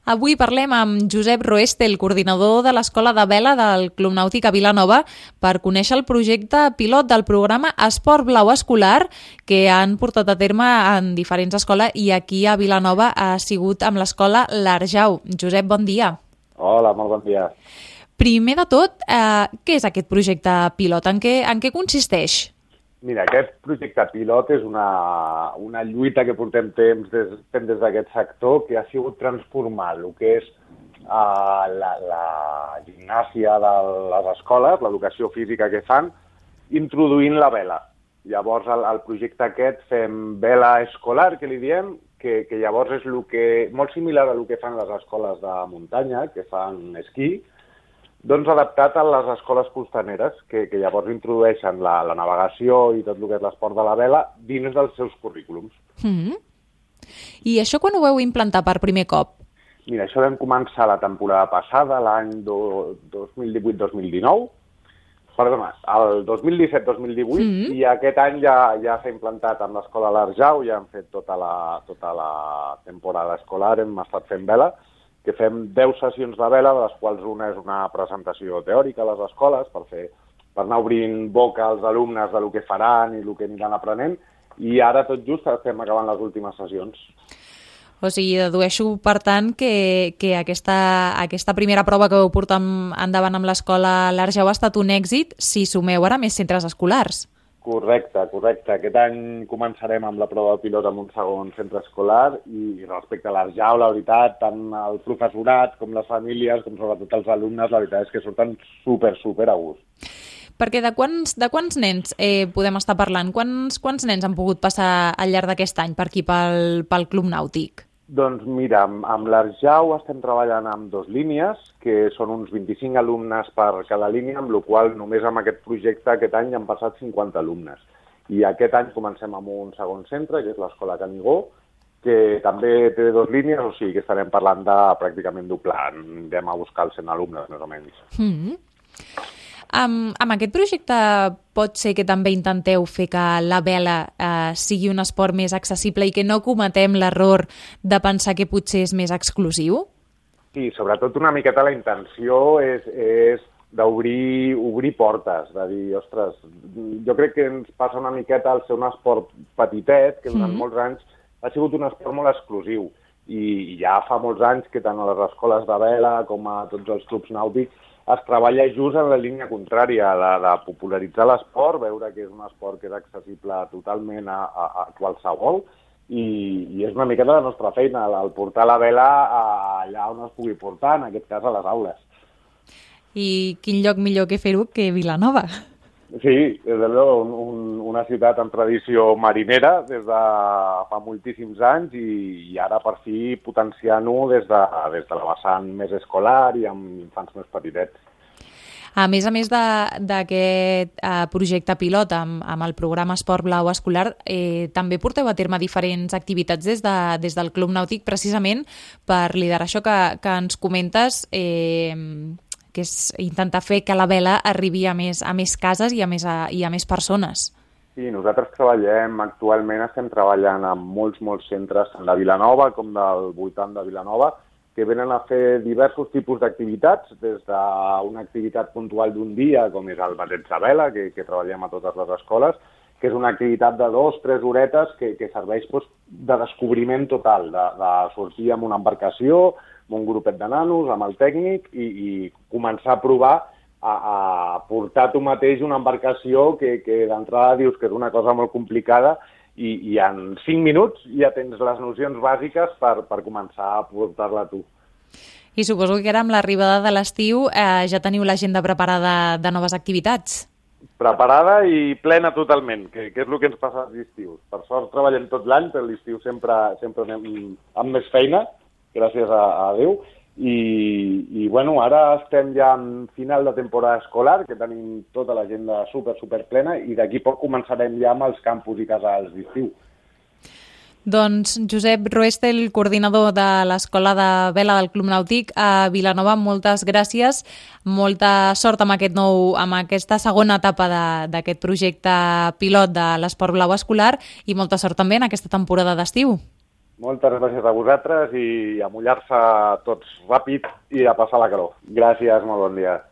Avui parlem amb Josep Roeste, el coordinador de l'Escola de Vela del Club Nàutic a Vilanova, per conèixer el projecte pilot del programa Esport Blau Escolar que han portat a terme en diferents escoles i aquí a Vilanova ha sigut amb l'escola L'Arjau. Josep, bon dia. Hola, molt bon dia. Primer de tot, què és aquest projecte pilot? En què consisteix? Mira, aquest projecte pilot és una lluita que portem temps des d'aquest sector que ha sigut transformar el que és la gimnàsia de les escoles, l'educació física que fan, introduint la vela. Llavors, el projecte aquest fem vela escolar, que li diem, que llavors és molt similar a el que fan les escoles de muntanya, que fan esquí, doncs adaptat a les escoles costaneres, que llavors introdueixen la navegació i tot el que és l'esport de la vela dins dels seus currículums. I això quan ho vau implantar per primer cop? Mira, això vam començar la temporada passada, l'any 2018-2019, perdona, el 2017-2018, i aquest any ja s'ha implantat amb l'escola L'Arjau, ja hem fet tota la temporada escolar, hem estat fent vela, que fem 10 sessions de vela, de les quals una és una presentació teòrica a les escoles per anar obrint boca als alumnes del que faran i el que aniran aprenent, i ara tot just estem acabant les últimes sessions. O sigui, dedueixo, per tant, que aquesta primera prova que vau portar endavant amb l'escola L'Arjau ha estat un èxit si sumeu ara més centres escolars. Correcte. Aquest any començarem amb la prova pilot amb un segon centre escolar i respecte a l'Arjau, la veritat, tant el professorat com les famílies, com sobretot els alumnes, la veritat és que surten super a gust. Perquè de quants nens podem estar parlant? Quants nens han pogut passar al llarg d'aquest any per aquí, pel Club Nàutic? Doncs mira, amb l'Arjau estem treballant amb 2 línies, que són uns 25 alumnes per cada línia, amb la qual només amb aquest projecte aquest any han passat 50 alumnes. I aquest any comencem amb un segon centre, que és l'Escola Canigó, que també té 2 línies, o sigui que estarem parlant de pràcticament doblar. Anem a buscar els 100 alumnes, més o menys. Amb aquest projecte pot ser que també intenteu fer que la vela sigui un esport més accessible i que no cometem l'error de pensar que potser és més exclusiu? Sí, sobretot una miqueta la intenció és d'obrir portes, de dir, ostres, jo crec que ens passa una miqueta al ser un esport petitet, que durant molts anys ha sigut un esport molt exclusiu, i ja fa molts anys que tant a les escoles de vela com a tots els clubs nàutics es treballa just en la línia contrària, de popularitzar l'esport, veure que és un esport que és accessible totalment a qualsevol, i és una miqueta la nostra feina, el portar la vela allà on es pugui portar, en aquest cas a les aules. I quin lloc millor que fer-ho que Vilanova? Sí, des de una ciutat amb tradició marinera des de fa moltíssims anys i ara per fi potenciant-ho des de la vessant més escolar i amb infants més petitets. A més d'aquest projecte pilot amb el programa Esport Blau Escolar, també porteu a terme diferents activitats des del Club Nàutic precisament per liderar això que ens comentes, que és intentar fer que la vela arribi a més cases i a més persones. Sí, nosaltres estem treballant amb molts centres, tant de Vilanova com del voltant de Vilanova, que venen a fer diversos tipus d'activitats, des d'una activitat puntual d'un dia, com és el bateig de vela, que treballem a totes les escoles, que és una activitat de 2-3 horetes que serveix de descobriment total, de sortir amb una embarcació, amb un grupet de nanos, amb el tècnic, i començar a provar a portar tu mateix una embarcació que d'entrada dius que és una cosa molt complicada i en 5 minuts ja tens les nocions bàsiques per començar a portar-la tu. I suposo que ara amb l'arribada de l'estiu ja teniu l'agenda preparada de noves activitats. Preparada i plena totalment, que és el que ens passa als estius. Per sort treballem tot l'any, però l'estiu sempre anem amb més feina, gràcies a Déu, i bueno, ara estem ja en final de temporada escolar, que tenim tota l'agenda super plena, i d'aquí poc començarem ja amb els campus i casals d'estiu. Doncs Josep Roeste, el coordinador de l'Escola de Vela del Club Nàutic a Vilanova, moltes gràcies, molta sort amb aquesta segona etapa d'aquest projecte pilot de l'Esport Blau Escolar i molta sort també en aquesta temporada d'estiu. Moltes gràcies a vosaltres i a mullar-se tots ràpid i a passar la calor. Gràcies, molt bon dia.